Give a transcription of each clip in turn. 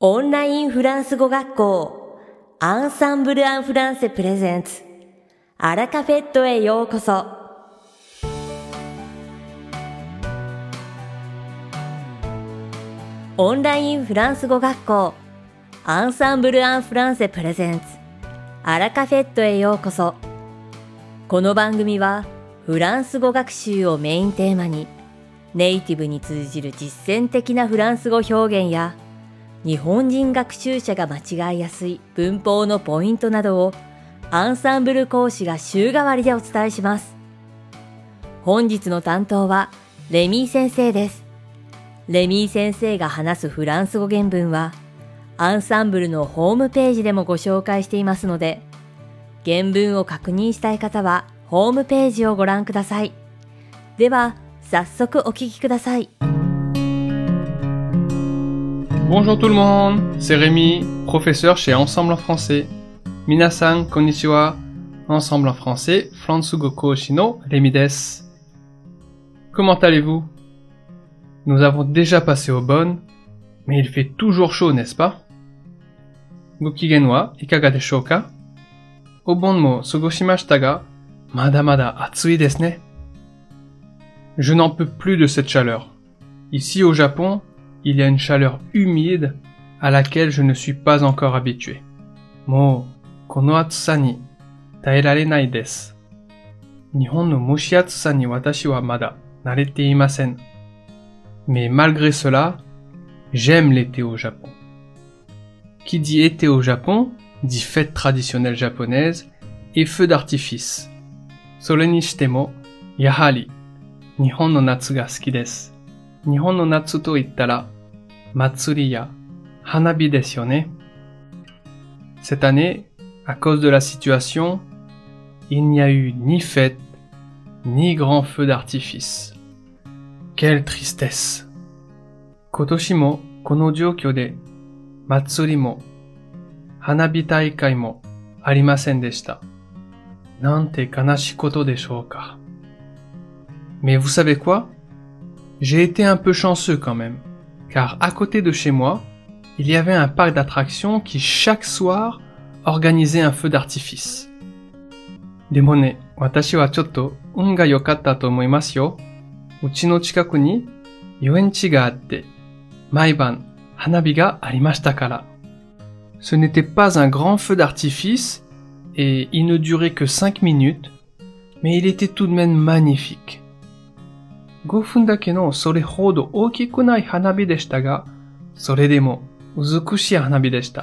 オンラインフランス語学校アンサンブル・アン・フランセプレゼンツアラカフェットへようこそ。オンラインフランス語学校アンサンブル・アン・フランセプレゼンツアラカフェットへようこそ。この番組はフランス語学習をメインテーマにネイティブに通じる実践的なフランス語表現や日本人学習者が間違いやすい文法のポイントなどをアンサンブル講師が週替わりでお伝えします。本日の担当はレミー先生です。レミー先生が話すフランス語原文はアンサンブルのホームページでもご紹介していますので、原文を確認したい方はホームページをご覧ください。では早速お聞きください。 Bonjour tout le monde, c'est Rémi, professeur chez Ensemble en français. Minasan, konnichiwa, Ensemble en français, Fransugo Kouchi no Rémi desu. Comment allez-vous? Nous avons déjà passé au bon, mais il fait toujours chaud, n'est-ce pas? Gokigen wa ikaga deshou ka? O bon mo sugoshimashita ga, mada mada atsui desu ne. Je n'en peux plus de cette chaleur. Ici au Japon, il y a une chaleur humide à laquelle je ne suis pas encore habitué. Mou, kono atsusa ni taerarenai desu. Nihon no mushiatsusa ni watashi wa mada narete imasen. Mais malgré cela, j'aime l'été au Japon. Qui dit été au Japon, dit fête traditionnelle japonaise et feu d'artifice. Sore ni shite mo, yahari, Nihon no natsu ga suki desu. Nihon no natsu to ittara, matsuri ya hanabi desu yo ne. Cette année, à cause de la situation, il n'y a eu ni fête, ni grand feu d'artifice. Quelle tristesse! Kotoshi mo kono joukyo de, matsuri mo, hanabi taikai mo arimasen deshita. Nante kanashi koto deshou ka. Mais vous savez quoi? J'ai été un peu chanceux quand même, car à côté de chez moi, il y avait un parc d'attractions qui chaque soir organisait un feu d'artifice. Demo ne, watashi wa chotto un ga yokatta to omoimasu yo. Uchi no chikaku ni yuenchi ga atte, maiban hanabi ga arimashita kara. Ce n'était pas un grand feu d'artifice et il ne durait que 5 minutes, mais il était tout de même magnifique. 5分だけのそれほど大きくない花火でしたが、それでも美しい花火でした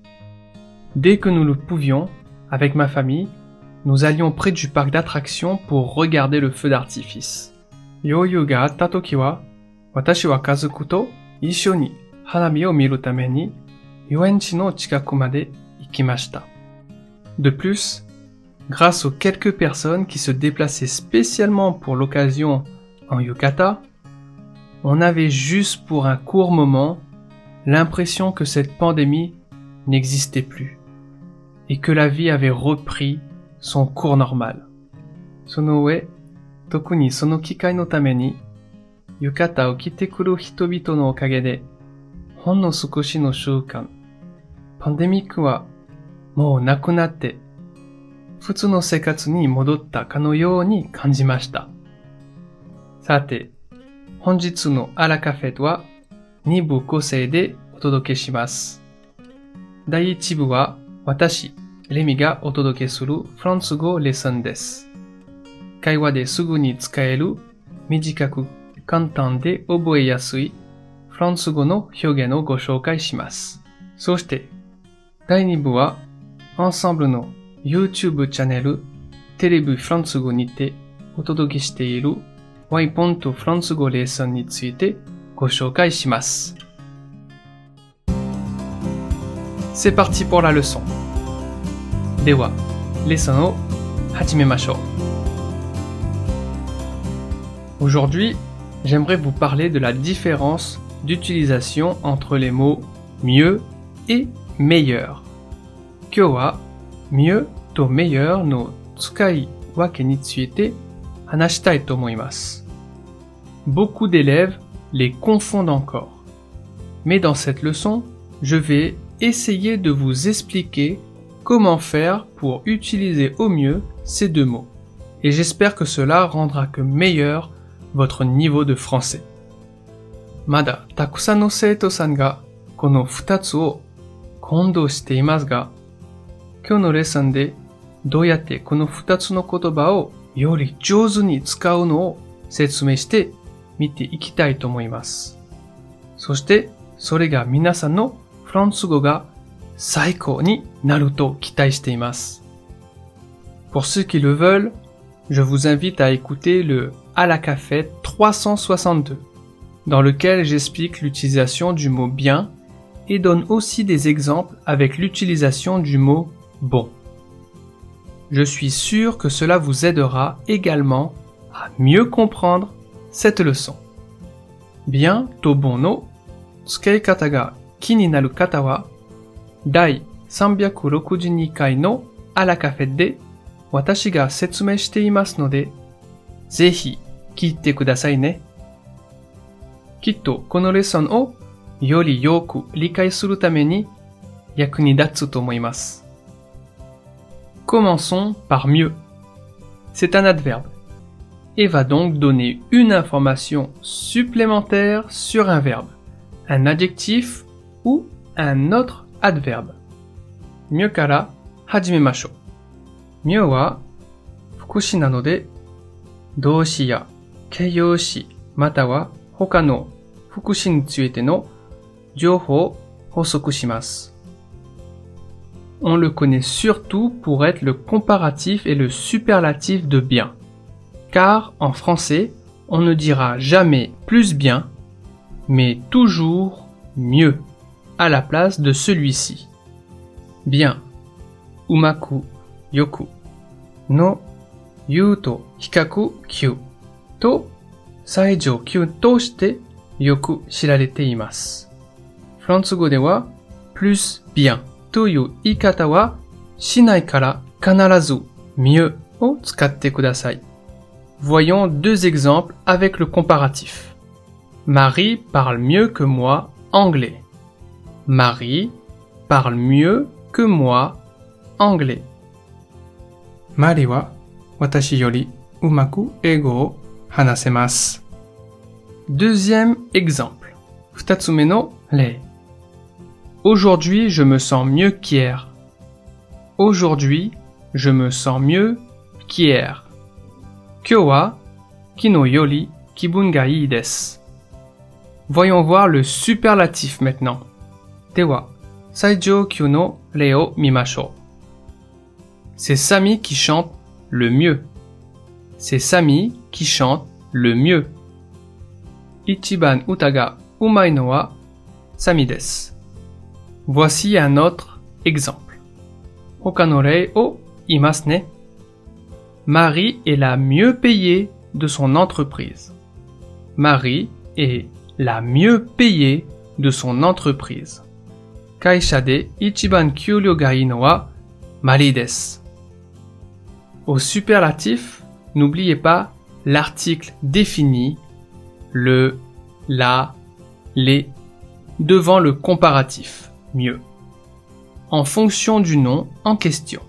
。Dès que nous le pouvions, avec ma famille, nous allions près du parc d'attractions pour regarder le feu d'artifice. 余裕があったときは、私は家族と一緒に花火を見るために遊園地の近くまで行きました。De plus, grâce aux quelques personnes qui se déplaçaient spécialement pour l'occasion en yukata, on avait juste pour un court moment l'impression que cette pandémie n'existait plus et que la vie avait repris son cours normal. その上、特にその機会のために浴衣を着てくる人々のおかげでほんの少しの週間、パンデミックはもうなくなって普通の生活に戻ったかのように感じました。さて、本日のアラカフェとは2部構成でお届けします。第1部は私、レミがお届けするフランス語レッスンです。会話ですぐに使える短く簡単で覚えやすいフランス語の表現をご紹介します。そして第2部はアンサンブルの YouTube チャンネルテレビフランス語にてお届けしているワイポンとフランス語レッスンについてご紹介します。C'est parti pour la leçon. では、レッスンを始めましょう。Aujourd'hui, j'aimerais vous parler de la différence d'utilisation entre les mots mieux et meilleur. 今日は mieux と meilleur の使い分けについて話したいと思います。Beaucoup d'élèves les confondent encore. Mais dans cette leçon, je vais essayer de vous expliquer comment faire pour utiliser au mieux ces deux mots. Et j'espère que cela rendra que meilleur votre niveau de français. まだたくさんの生徒さんがこの2つを混同していますが、今日のレッスンでどうやってこの2つの言葉をより上手に使うのを説明してみていきたいと思います。そしてそれが皆さんのフランス語が最高になると期待しています。Pour ceux qui le veulent, je vous invite à écouter le À la cafette 362, dans lequel j'explique l'utilisation du mot bien et donne aussi des exemples avec l'utilisation du mot bon. Je suis sûr que cela vous aidera également à mieux comprendre cette leçon. Bien to bon no tsukeikata ga ki ni naru kata wa dai 362回のあらカフェで私が説明していますので、ぜひ聞いてくださいね。きっとこのレッスンをよりよく理解するために役に立つと思います。Commençons par mieux. C'est un adverbe et va donc donner une information supplémentaire sur un verbe, un adjectif ou un autre adverbe. Mieux から始めましょう。mieux は副詞なので動詞や形容詞または他の副詞についての情報を補足します。On le connaît surtout pour être le comparatif et le superlatif de bien. Car en français, on ne dira jamais plus bien, mais toujours mieux à la place de celui-ci. Bien, umaku, yoku, no, yu to hikaku kyu, to, saijou kyu to shite yoku shirarete imasu. フランス語では plus bien という言い方はしないから必ず mieux を使ってください。Voyons deux exemples avec le comparatif. Marie parle mieux que moi anglais. Marie parle mieux que moi anglais. マリは私よりうまく英語を話せます。Deuxième exemple. 二つ目の例。Aujourd'hui, je me sens mieux qu'hier. Aujourd'hui, je me sens mieux qu'hier. 今日は昨日より気分がいいです。Voyons voir le superlatif maintenant. では、最上級の例を見ましょう。C'est Samy qui chante le mieux. C'est Samy qui chante le mieux. 一番歌がうまいのはサミです。Voici un autre exemple. 他の例を言いますね。Marie est la mieux payée de son entreprise. Marie est la mieux payée de son entreprise. 会社で一番給料がいいのはマリーです。Au superlatif, n'oubliez pas l'article défini, le, la, les, devant le comparatif, mieux, en fonction du nom en question.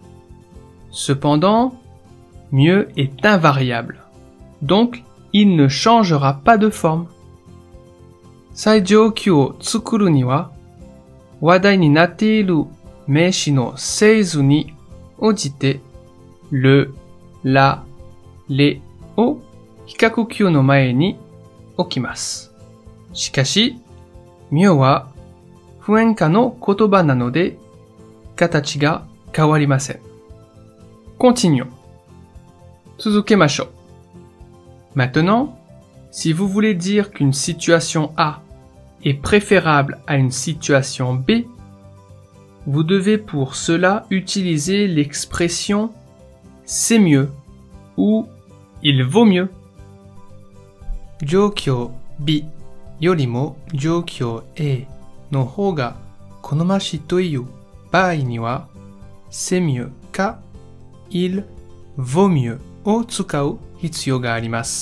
Cependant, mieux est invariable, donc il ne changera pas de forme. 最上級を作るには、話題になっている名詞の整図に応じて、le, la, les を比較級の前に置きます。しかし、mieuxは不変化の言葉なので、形が変わりません。Continuons. 続けましょう。Maintenant, si vous voulez dire qu'une situation A est préférable à une situation B, vous devez pour cela utiliser l'expression c'est mieux ou il vaut mieux. 状況 B よりも状況 A の方が好ましいという場合には c'est mieux か il vaut mieux を使う必要があります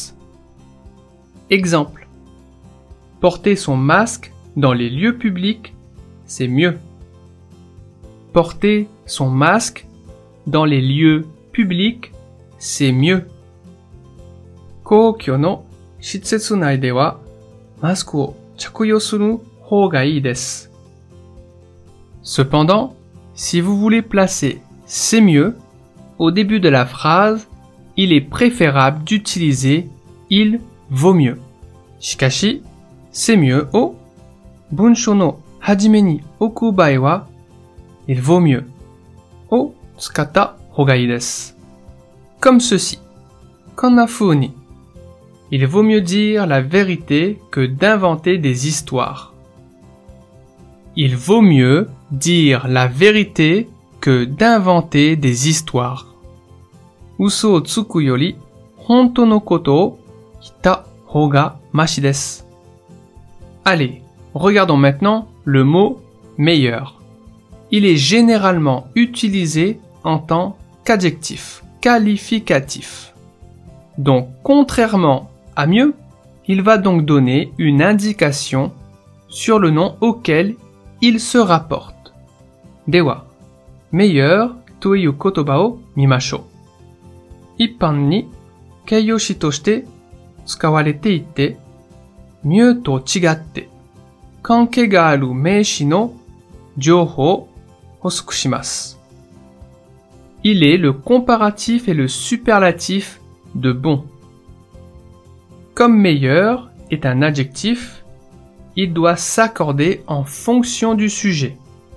。Exemple. Porter son masque dans les lieux publics, c'est mieux. Porter son masque dans les lieux publics, c'est mieux. 公共の施設内ではマスクを着用する方がいいです。Cependant, si vous voulez placer c'est mieux au début de la phrase, il est préférable d'utiliser il vaut mieux. しかし、c'est mieux を文章の始めに置く場合は、il vaut mieux を使った方がいいです。Comme ceci. こんな風に。Il vaut mieux dire la vérité que d'inventer des histoires. Il vaut mieux dire la vérité que d'inventer des histoires. 嘘をつくより、本当のことを言った方がマシです。Allez, regardons maintenant le mot meilleur. Il est généralement utilisé en tant qu'adjectif, qualificatif. Donc, contrairement à mieux, il va donc donner une indication sur le nom auquel il se rapporte. では、meilleur という言葉を見ましょう。一般に形容詞として使われていて、mieux と違って関係がある名詞の情報を補足します。Il est le comparatif et le superlatif de bon. Comme meilleur est un adjectif, il doit s'accorder en fonction du sujet.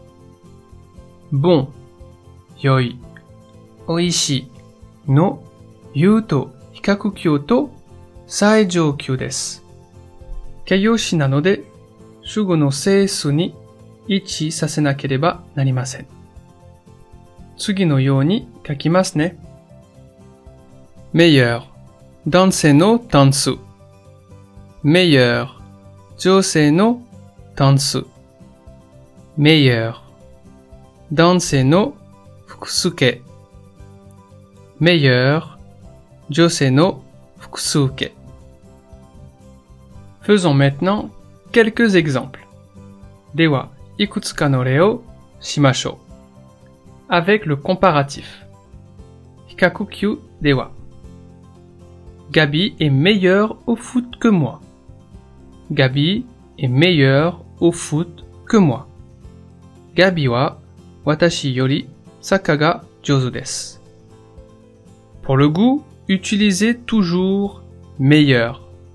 Bon, yoi, oishii no yu to hikakukyou to saijoukyou desu. 形容詞なので主語の整数に位置させなければなりません。次のように書きますね。meilleur 男性の単数 meilleur 女性の単数 meilleur 男性の複数形 meilleur 女性の複数形。Faisons maintenant quelques exemples. では、いくつかの例をしましょう。Avec le comparatif. 比較級では。Gabi est meilleur au foot que moi. Gabi est meilleur au foot que moi. Gabi は私よりサッカーが上手です。Pour le goût, utilisez toujours meilleur.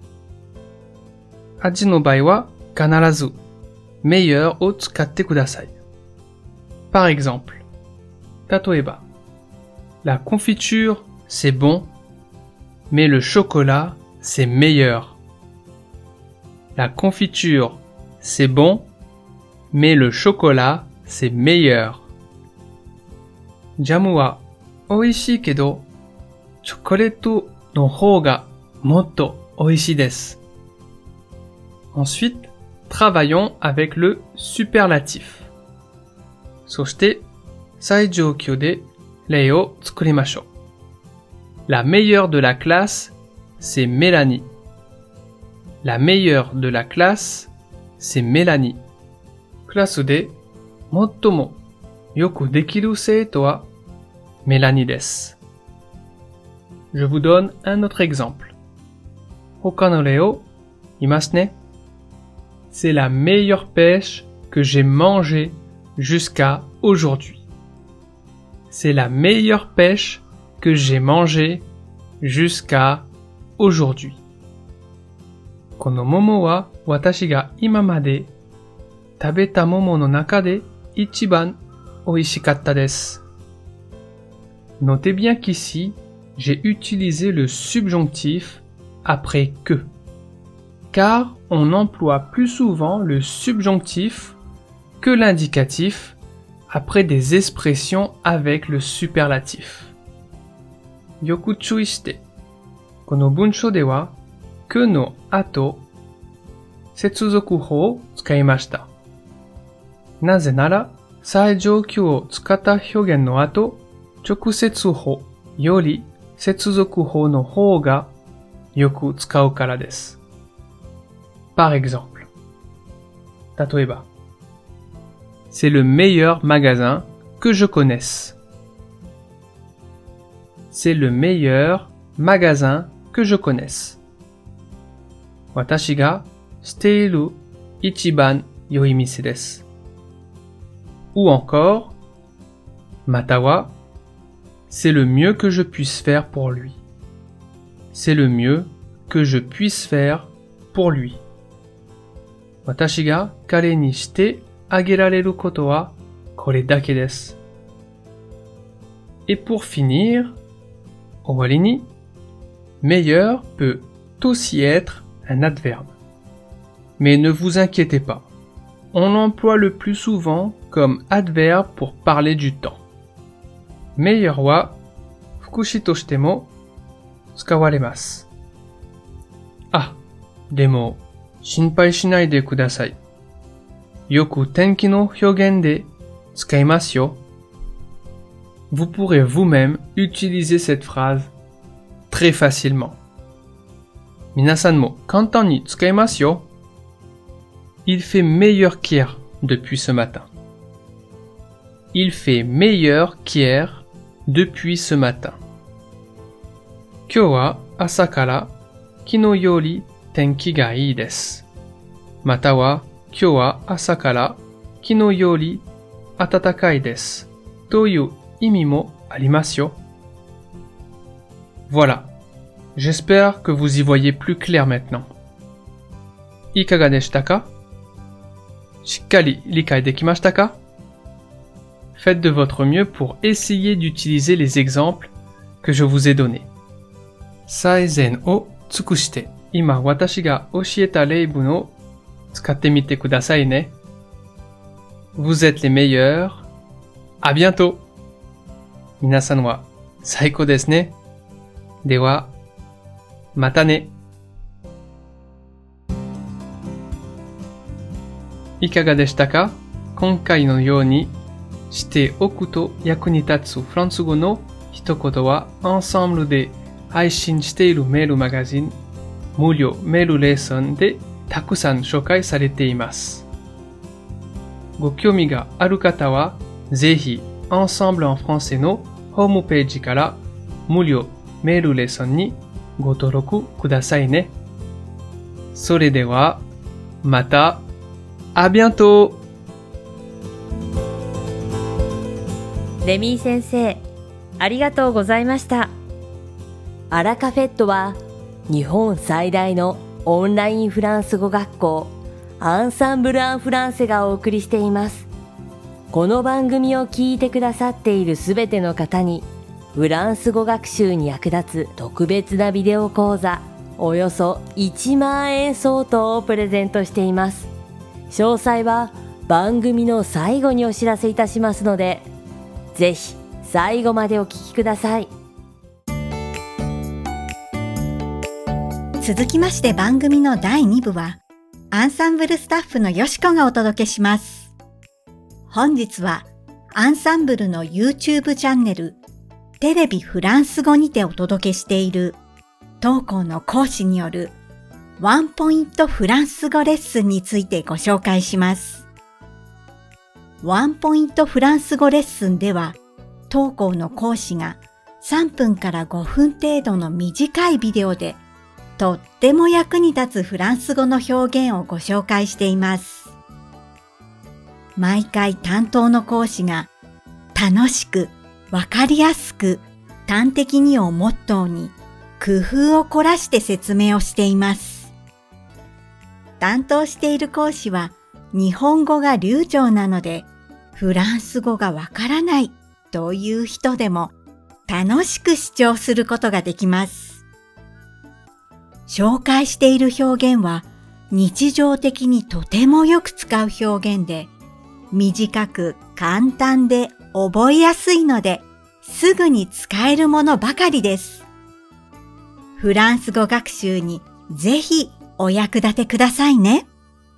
味の場合は必ず meilleur を使ってください。Par exemple, 例えば La confiture, c'est bon, mais le chocolat, c'est meilleur. La confiture, c'est bon, mais le chocolat, c'est meilleur. ジャムは美味しいけど、チョコレートの方がもっと美味しいです。Ensuite, travaillons avec le superlatif. そして、最上級で例を作りましょう。La meilleure de la classe, c'est Mélanie. La meilleure de la classe, c'est Mélanie. クラスで最もよくできる生徒はメラニです。Je vous donne un autre exemple. 他の例を言いますね。C'est la meilleure pêche que j'ai mangée jusqu'à aujourd'hui. C'est la meilleure pêche que j'ai mangée jusqu'à aujourd'hui. この桃は私が今まで食べた桃の中で一番美味しかったです。Notez bien qu'ici, j'ai utilisé le subjonctif après que. Car on emploie plus souvent le subjonctif que l'indicatif après des expressions avec le superlatif. よく注意して、この文章では、que の後、接続法を使いました。なぜなら、最上級を使った表現の後、直接法より接続法の方がよく使うからです。Par exemple, 例えば c'est le meilleur magasin que je connaisse. C'est le meilleur magasin que je connaisse. 私が知っている一番良い店です。Ou encore, または c'est le mieux que je puisse faire pour lui. C'est le mieux que je puisse faire pour lui. 私が彼にしてあげられることはこれだけです。Et pour finir, 終わりに meilleur peut aussi être un adverbe. Mais ne vous inquiétez pas, on l'emploie le plus souvent comme adverbe pour parler du temps. meilleur は副詞としても使われます。あ、でも心配しないでください。よく天気の表現で使いますよ。Vous pourrez vous-même utiliser cette phrase très facilement. 皆さんも簡単に使えますよ。Il fait meilleur qu'hier depuis ce matin. Il fait meilleur qu'hier depuis ce matin. 今日は朝から昨日より天気がいいです。または今日は朝から昨日より暖かいです。という意味もありますよ。Voilà. J'espère que vous y voyez plus clair maintenant. いかがでしたか？しっかり理解できましたか？ Faites de votre mieux pour essayer d'utiliser les exemples que je vous ai donnés. 最善を尽くして、今私が教えた例文を使ってみてくださいね。Vous êtes les meilleurs. À bientôt. 皆さんは最高ですね。では、またね。いかがでしたか？今回のようにしておくと役に立つフランス語の一言はアンサンブルで配信しているメールマガジン無料メールレッスンでたくさん紹介されています。ご興味がある方はぜひアンサンブルen françaisのホームページから無料メールレッスンにご登録くださいね。それではまた。À bientôt! レミー先生、ありがとうございました。アラカフェットは日本最大のオンラインフランス語学校アンサンブル・アン・フランセがお送りしています。この番組を聞いてくださっているすべての方にフランス語学習に役立つ特別なビデオ講座およそ1万円相当をプレゼントしています。詳細は番組の最後にお知らせいたしますので、ぜひ最後までお聞きください。 続きまして番組の第2部は、アンサンブルスタッフのよしこがお届けします。本日はアンサンブルの YouTube チャンネル、テレビフランス語にてお届けしている当校の講師によるワンポイントフランス語レッスンについてご紹介します。ワンポイントフランス語レッスンでは、当校の講師が3分から5分程度の短いビデオで、とっても役に立つフランス語の表現をご紹介しています。毎回担当の講師が楽しく、わかりやすく、端的にをモットーに工夫を凝らして説明をしています。担当している講師は日本語が流暢なのでフランス語がわからないという人でも楽しく視聴することができます。紹介している表現は日常的にとてもよく使う表現で短く簡単で覚えやすいのですぐに使えるものばかりです。フランス語学習にぜひお役立てくださいね。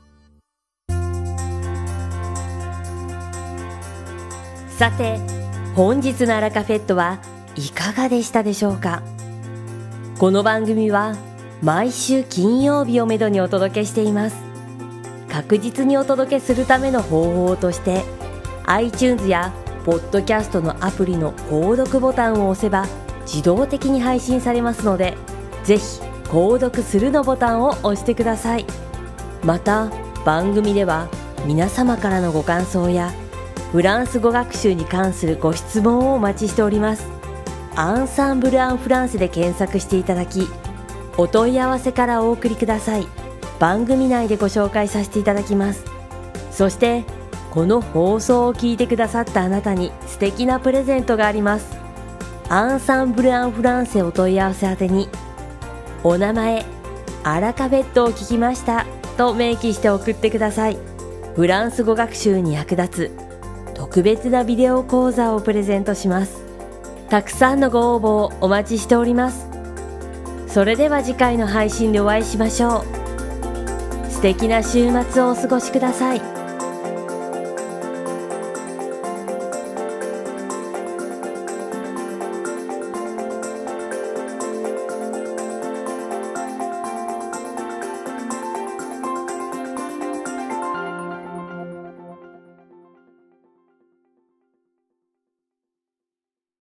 さて、本日のアラカフェットはいかがでしたでしょうか。この番組は毎週金曜日をめどにお届けしています。確実にお届けするための方法として iTunes やポッドキャストのアプリの購読ボタンを押せば自動的に配信されますので、ぜひ購読するのボタンを押してください。また番組では皆様からのご感想やフランス語学習に関するご質問をお待ちしております。アンサンブル・アン・フランセで検索していただき、お問い合わせからお送りください。番組内でご紹介させていただきます。そしてこの放送を聞いてくださったあなたに素敵なプレゼントがあります。アンサンブル・アン・フランセお問い合わせ宛てに、お名前、アラカフェットを聞きましたと明記して送ってください。フランス語学習に役立つ特別なビデオ講座をプレゼントします。たくさんのご応募をお待ちしております。それでは次回の配信でお会いしましょう。素敵な週末をお過ごしください。